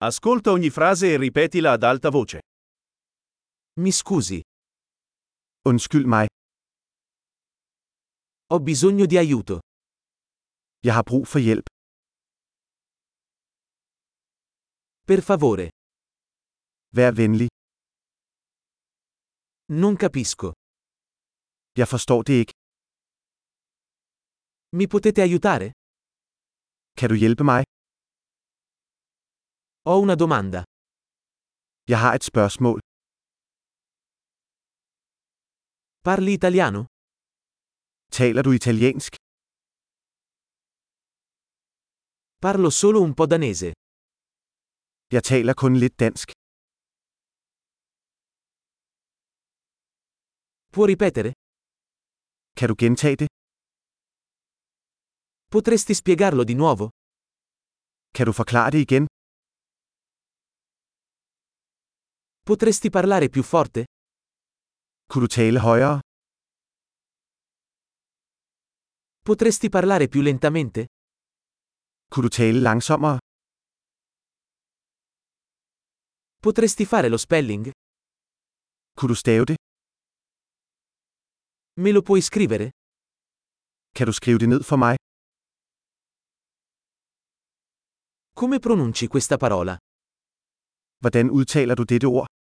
Ascolta ogni frase e ripetila ad alta voce. Mi scusi, Undskyld mig. ho bisogno di aiuto. Jeg har brug for hjælp. Per favore, Vær venlig. non capisco. Jeg forstår det ikke. Mi potete aiutare? Kan du hjælpe mig? Ho una domanda. Jeg har et spørgsmål. Parli italiano? Taler du italiensk? Parlo solo un po' danese. Jeg taler kun lidt dansk. Può ripetere? Kan du gentage det? Potresti spiegarlo di nuovo? Kan du forklare det igen? Potresti parlare più forte? Kunne du tale højere? Potresti parlare più lentamente? Kunne du tale langsommere? Potresti fare lo spelling? Kunne du stave det? Me lo puoi scrivere? Kan du skrive det ned for mig? Come pronunci questa parola? Hvordan udtaler du dette ord?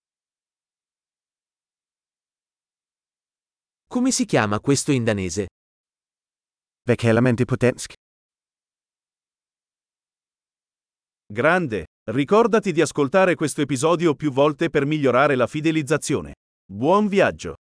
Come si chiama questo in danese? Hvad kalder man det på dansk? Grande! Ricordati di ascoltare questo episodio più volte per migliorare la fidelizzazione. Buon viaggio!